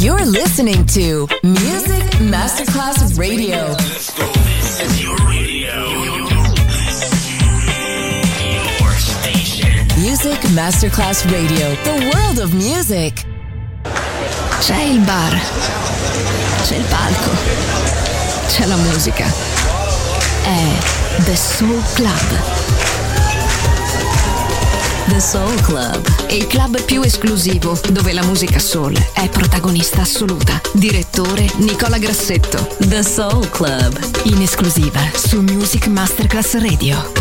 You're listening to Music Masterclass Radio. Let's go. This is your radio. Your station. Music Masterclass Radio. The world of music. C'è il bar. C'è il palco. C'è la musica. È The Soul Club. The Soul Club. Il club più esclusivo dove la musica soul è protagonista assoluta. Direttore Nicola Grassetto. The Soul Club. In esclusiva su Music Masterclass Radio.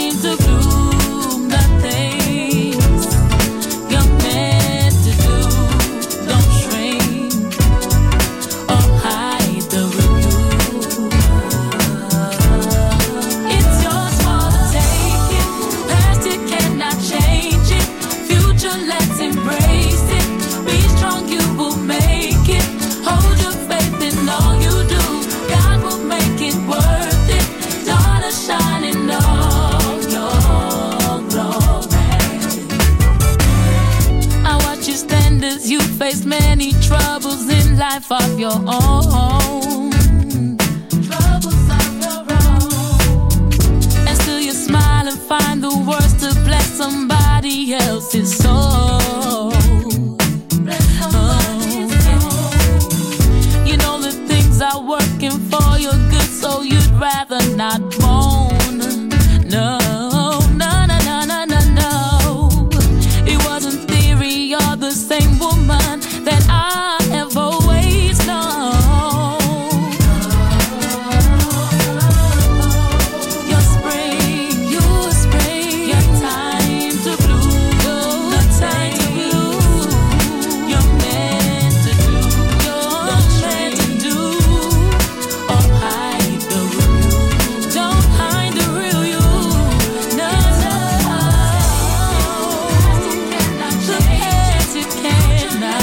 You're meant to do. embrace it. Be strong, you will make it. Hold your faith in all you do. God will make it worth it. Daughter shining all your glory. I watch you stand as you face many troubles in life of your own. Troubles of your own. And still you smile and find the words to bless somebody else's soul. You know the things are working for your good, so you'd rather not moan. No, no, no, no, no, no, no. It wasn't theory, you're the same woman that I have always known. Your spring, your spring, your time to bloom, the time to bloom. You're meant to do, you're meant to do. Or hide the real, don't hide the real you. No, no. The past you cannot.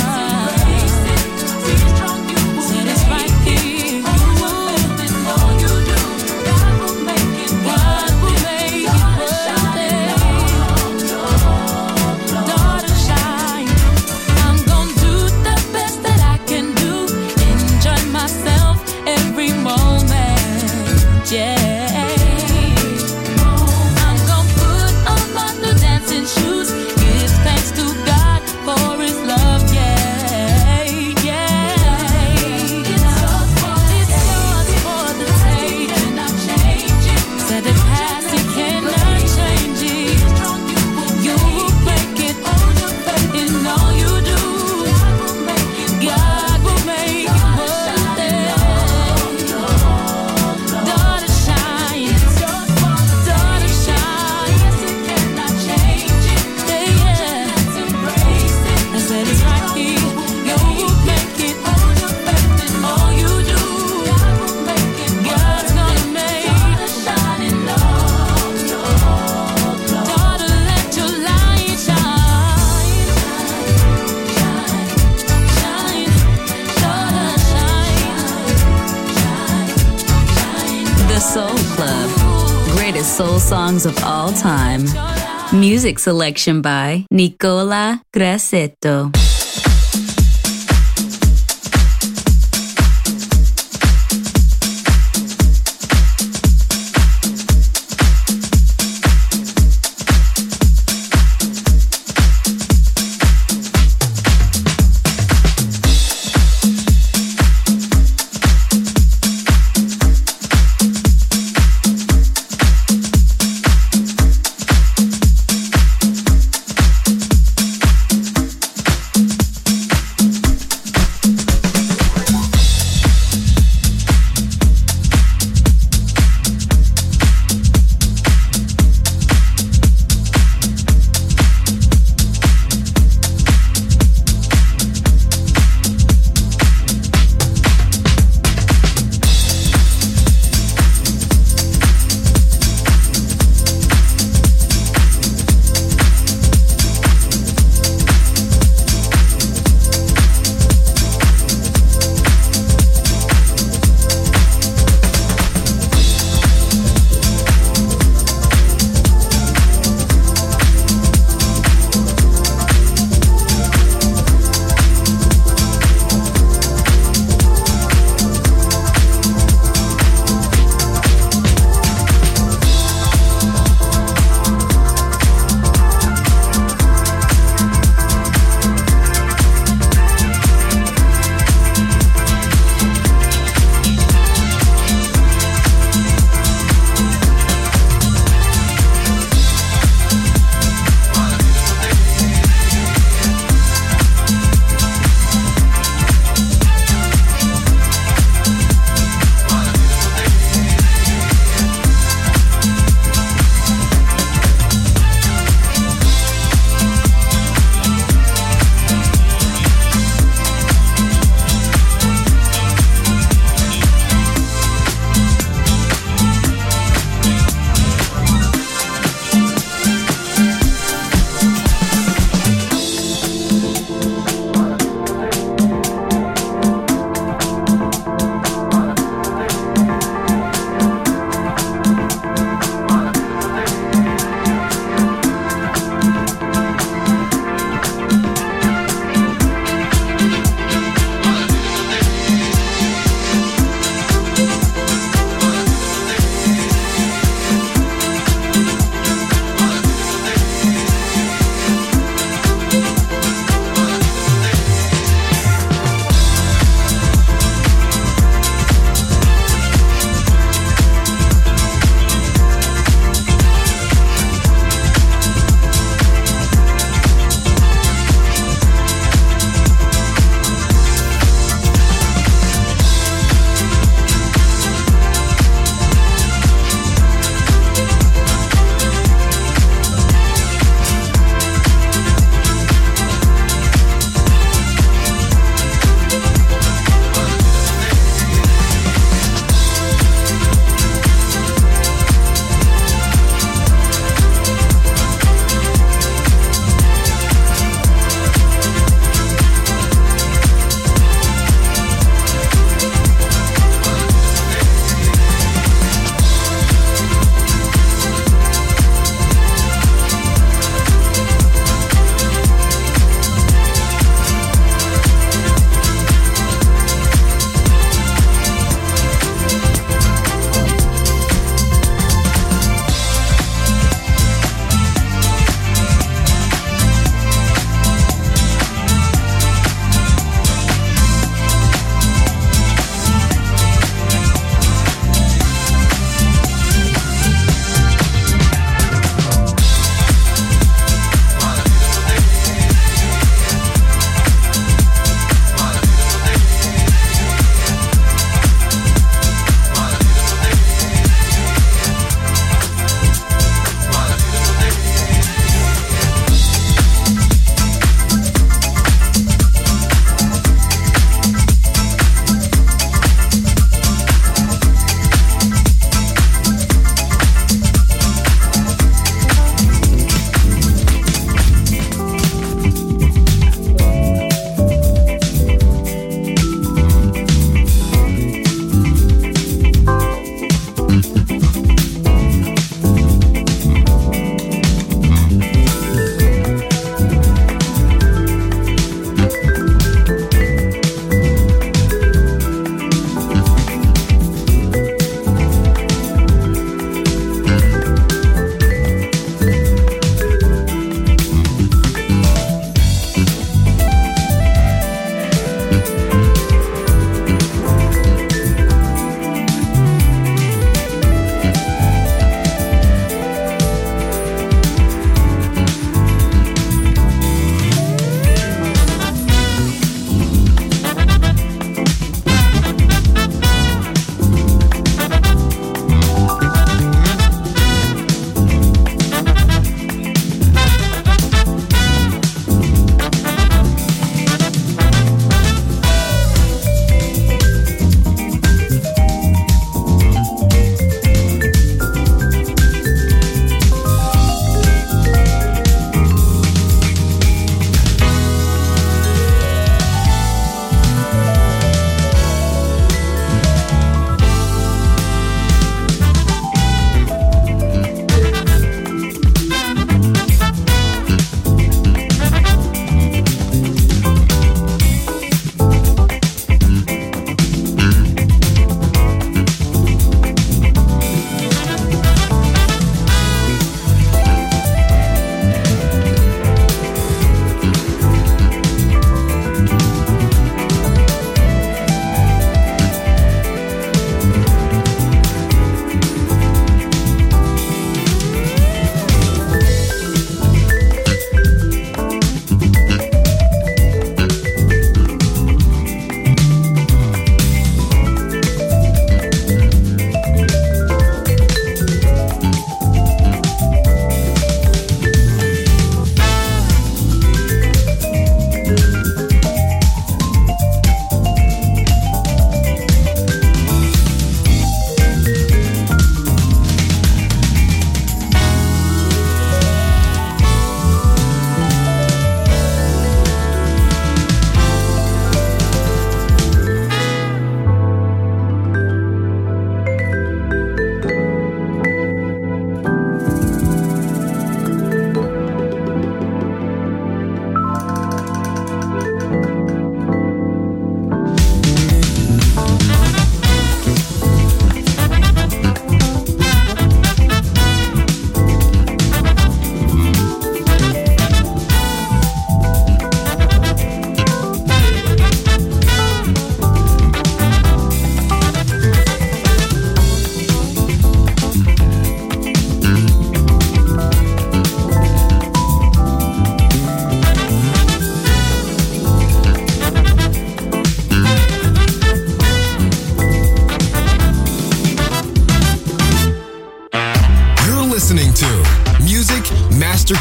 Said it's right here. All you do, God will make it worth it. Daughter shine. I'm gonna do the best that I can do. Enjoy myself every moment. Yeah. I'm gonna put on my new dancing shoes. Give thanks to God for His love. Yeah, yeah. It's yours for the taking. Said the past you cannot change it. You will make it in all you do. God will make it worth it. Daughter shine, daughter shine. Yeah, I said it's right here. You will make it in all you do. God's gonna make it. Daughter, let your light shine. Shine, daughter, shine. The Soul Club. Greatest soul songs of all time. Music selection by Nicola Grassetto.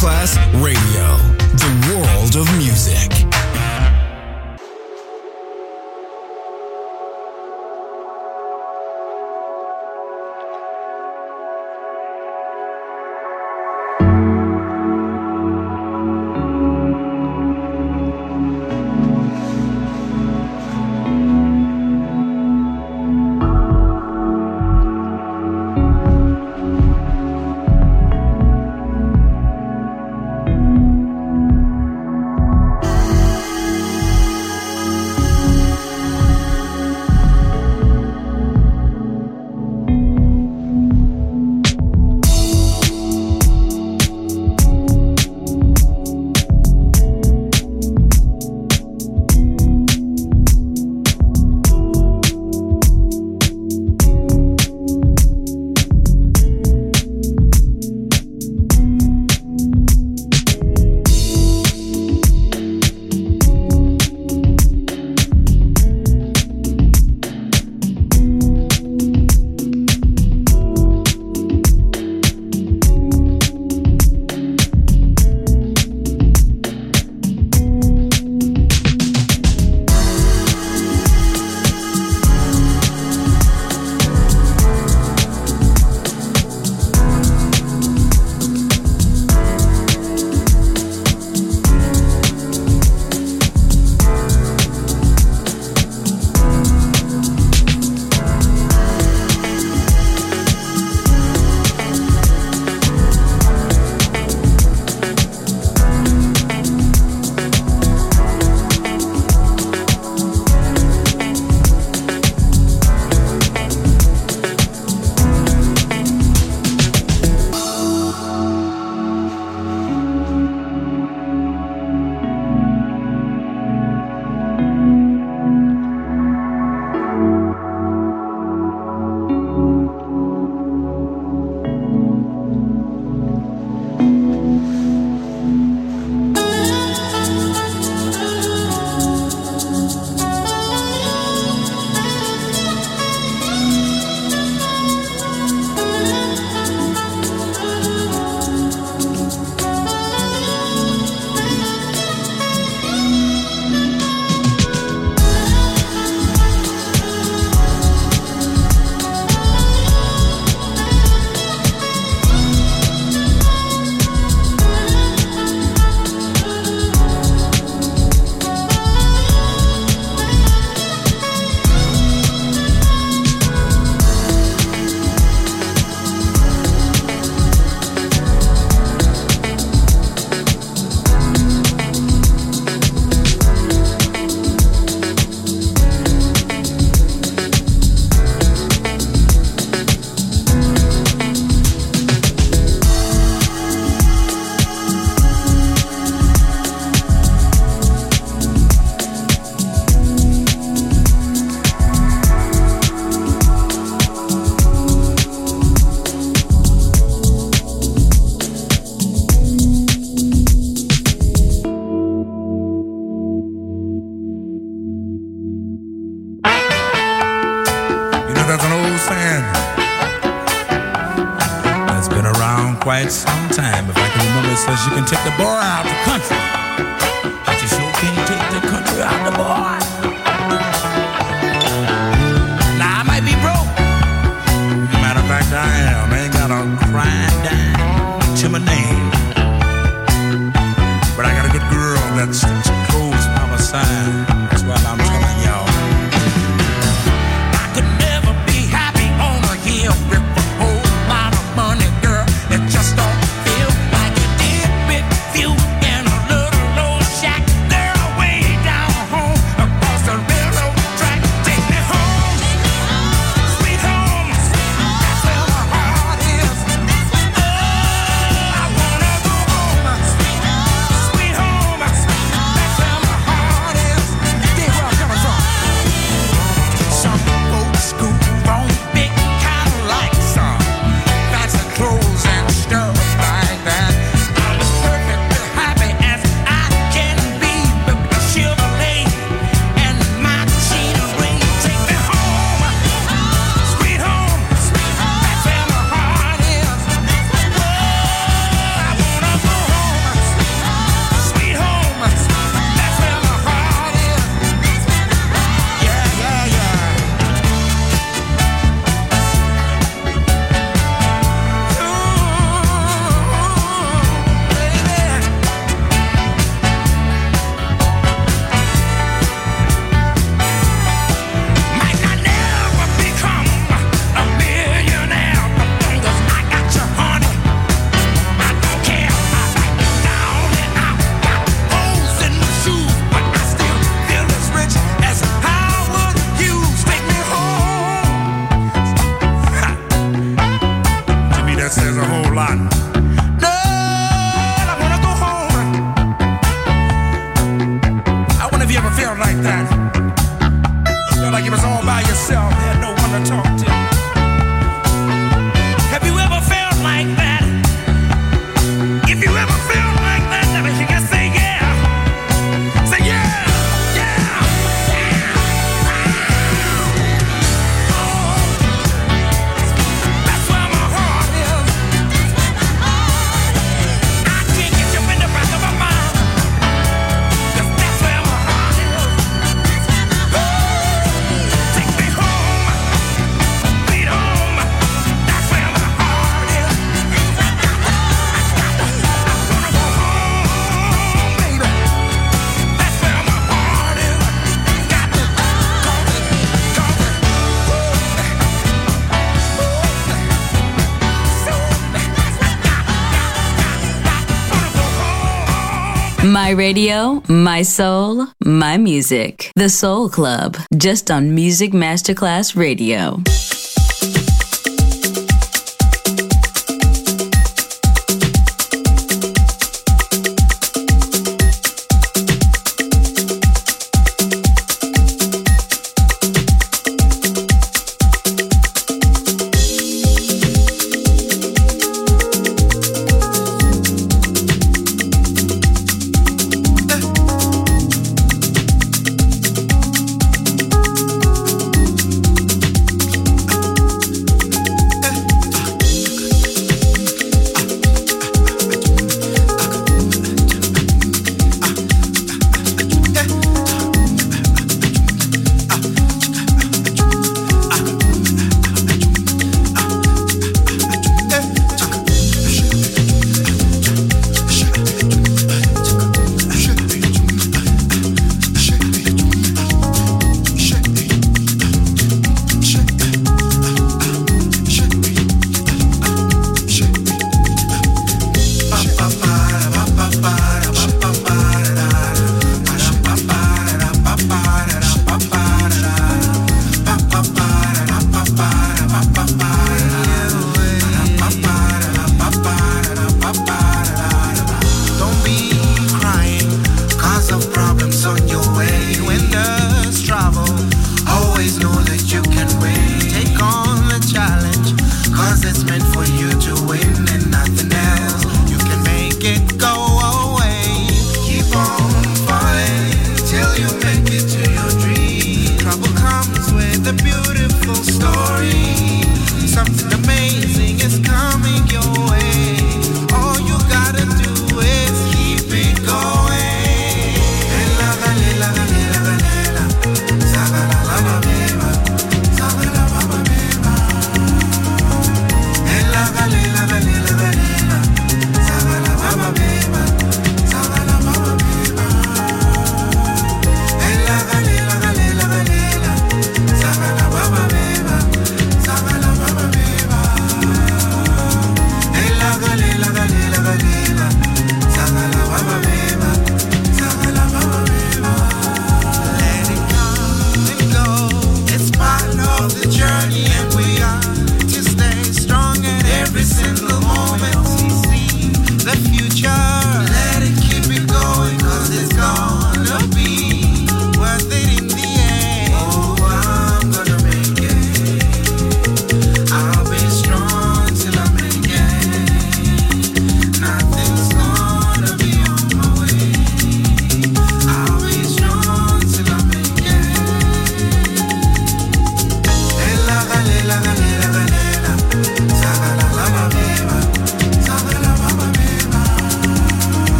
Masterclass Radio, the world of music. Quite some time. If I can remember, it says you can take the boy out the country, but you sure can't take the country out the boy. Now I might be broke. Matter of fact, I am. I ain't got a crying dime to my name, but I got a good girl that sticks close by my side. That's what I'm telling y'all. I could never be happy on a hill with a whole lot of money, girl. It just don't feel like it did with you and a little old you ever felt like that? Felt like you was all by yourself, had no one to talk to. Have you ever felt like that? If you ever felt like that, then you can say yeah. Say yeah, yeah, yeah. Oh, that's where my heart is. I can't get you in the back of my mind. 'Cause that's where my heart is. Oh, take me home, sweet home. That's where my heart is. I'm gonna go home, baby. That's where my heart is. Got to My radio, my soul, my music. The Soul Club, just on Music Masterclass Radio.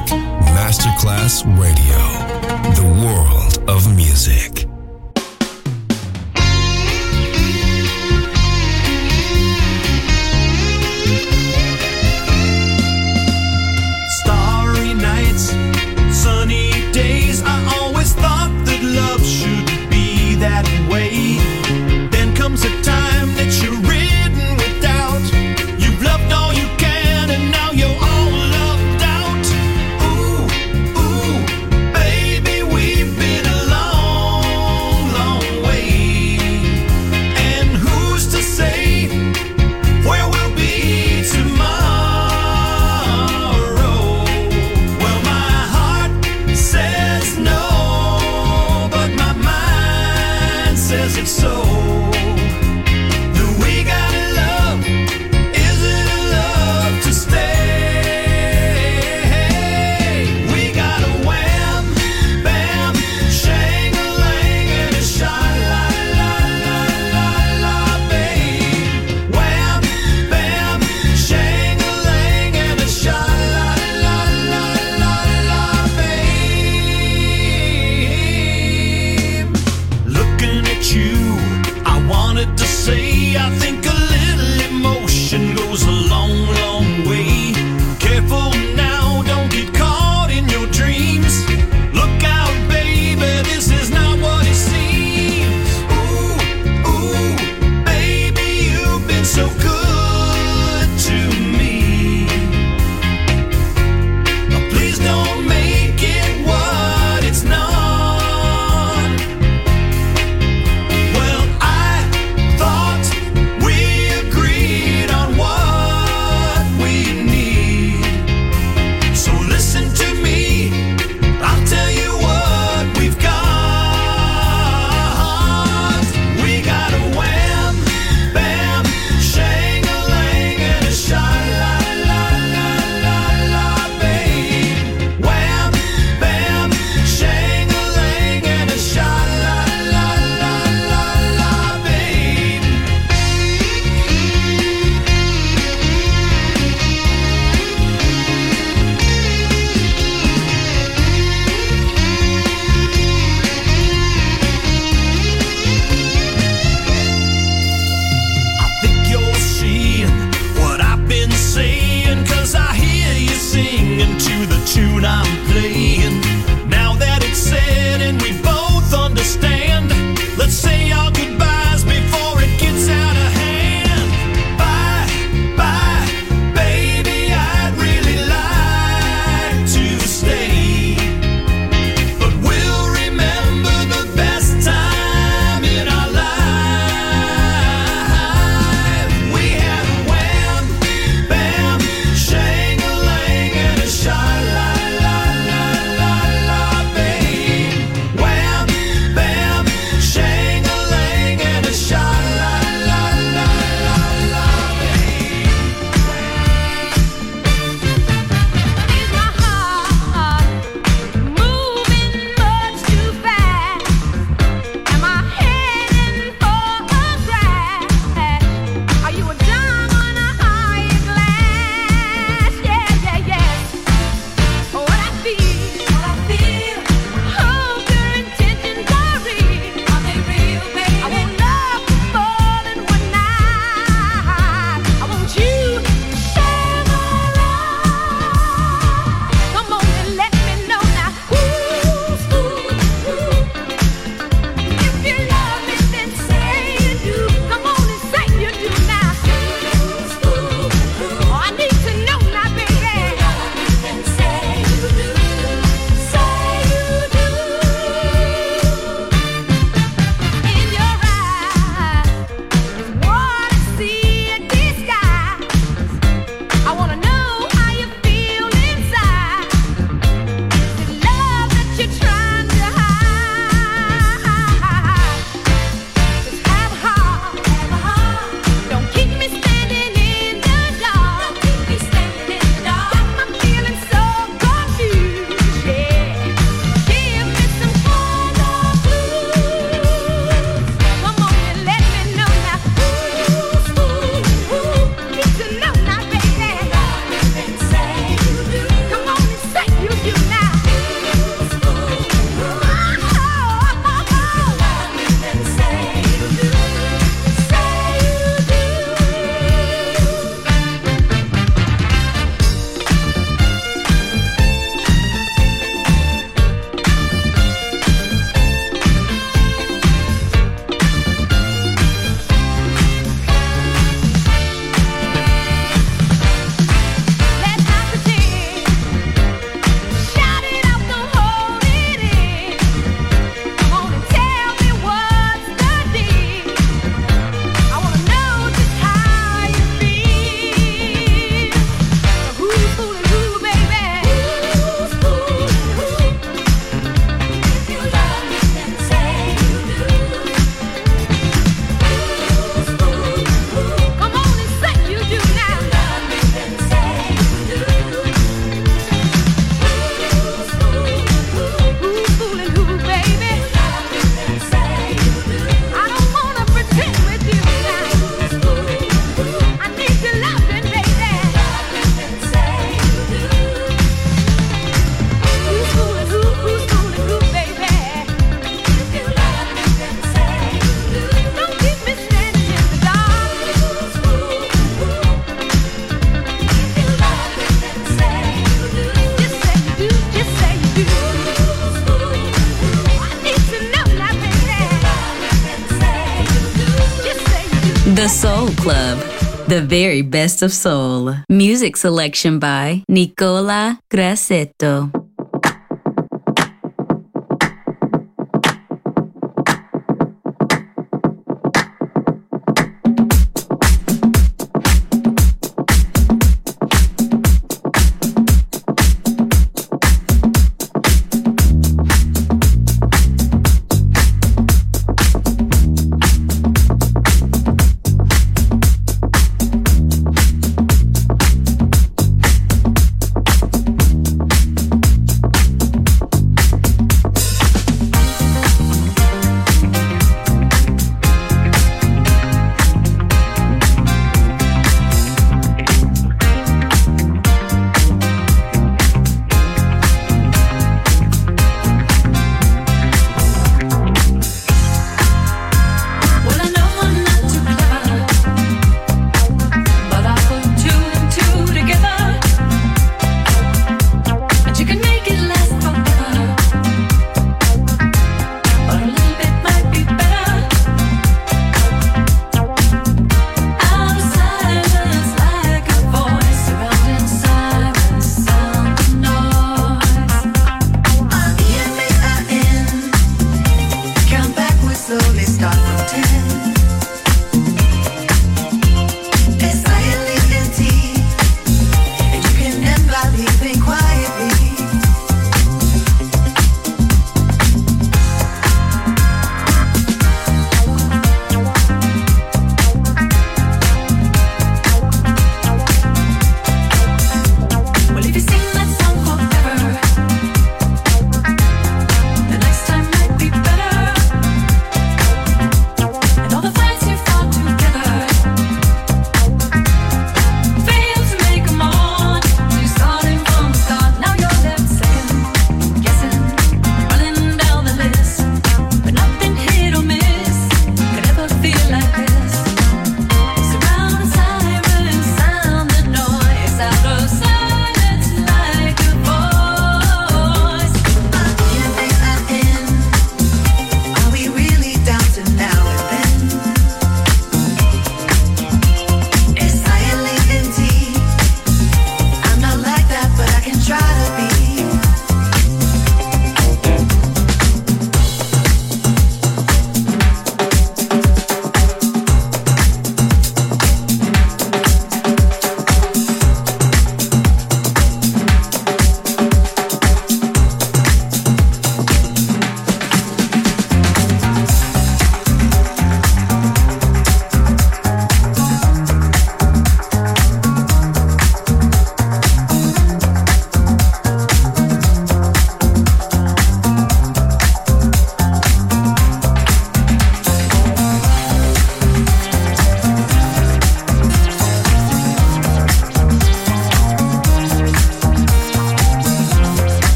Music Masterclass Radio. The world of music. Starry nights, sunny days. I always thought that love should be that way. Then comes a time that you're ridden with doubt. You've loved all you can and now you're all loved out. Ooh, ooh, baby, we've been a long, long way. And who's to say where we'll be tomorrow? Well, my heart says no, but my mind says it's so. That we gotta love, is it a love to stay? We got a wham, bam, shang-a-lang and a sha-la-la-la-la-la, babe. Wham, bam, shang-a-lang and a sha-la-la-la-la-la, babe. Looking at you, I wanted to say, I think a little emotion goes a long, long way. Careful now, don't get caught in your dreams. Look out, baby, this is not what it seems. Ooh, ooh, baby, you've been so good to me. Please don't make it what it's not. Well, I thought we agreed on what we need. So listen to me, I'll tell you what we've got. We got a wham, bam, shang-a-lang and a sha-la-la-la-la-la, babe. Wham, bam, shang-a-lang and a sha-la-la-la-la-la, babe. I think you're seeing what I've been saying, 'cause I hear you singing to the tune I'm playing. Now that it's said and we both understand, let's say our goodbyes before it gets out of hand. Bye, bye, baby, I'd really like to stay, but we'll remember the best time in our life. We had a wham, bam, shang-a-lang and a sha-la-la-la-la-la, babe. Wham, bam, shang-a-lang and a sha-la-la-la-la-la, babe. Is my heart moving much too fast? Am I heading for a crash? Are you a dime on a higher glass? Yeah, yeah, yeah. What I feel, hope your intentions are real. Are they real, baby? I want love for more than one night. I want you to share my life. Come on and let me know now. Ooh, ooh, ooh. If you love me, then say you do. Come on and say you do now. Ooh, ooh, ooh. I need to know now, baby. Then say you do. Soul Club, the very best of soul. Music selection by Nicola Grassetto.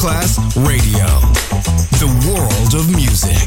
Masterclass Radio. The world of music.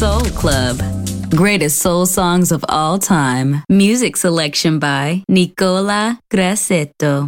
Soul Club. Greatest soul songs of all time. Music selection by Nicola Grassetto.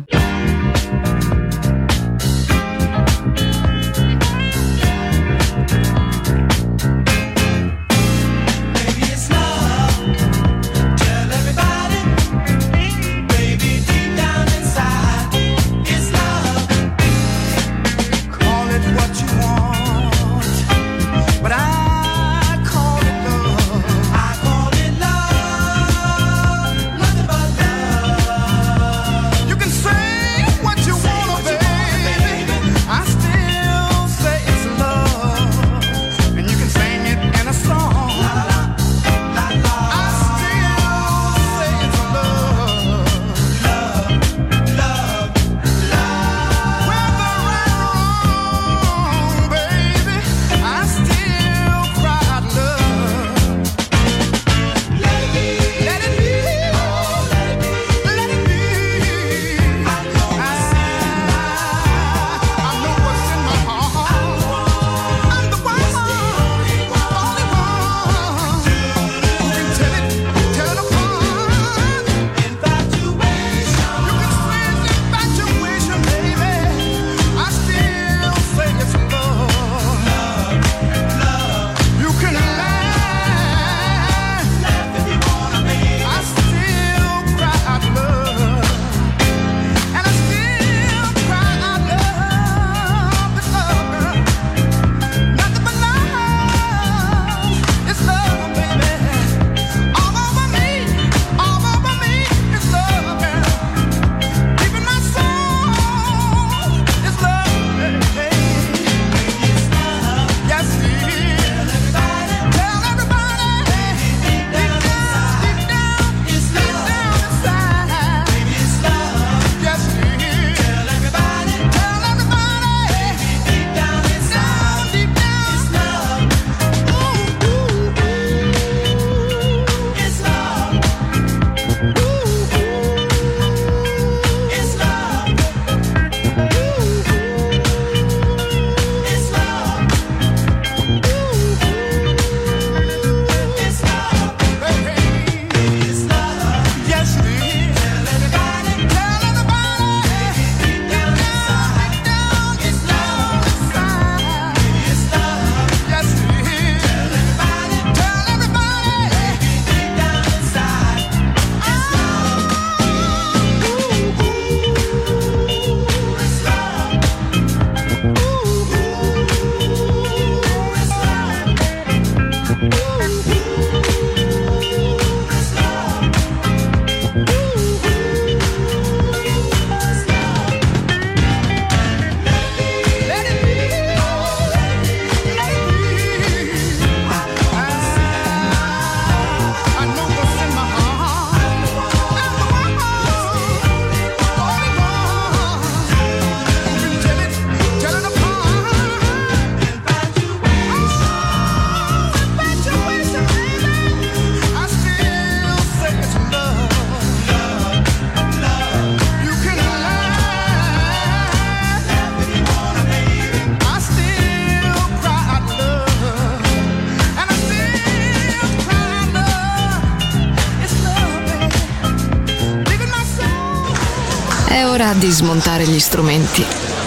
È ora di smontare gli strumenti,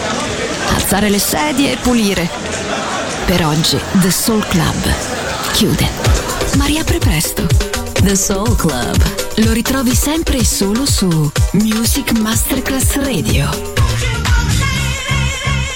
alzare le sedie e pulire. Per oggi The Soul Club chiude, ma riapre presto. The Soul Club. Lo ritrovi sempre e solo su Music Masterclass Radio.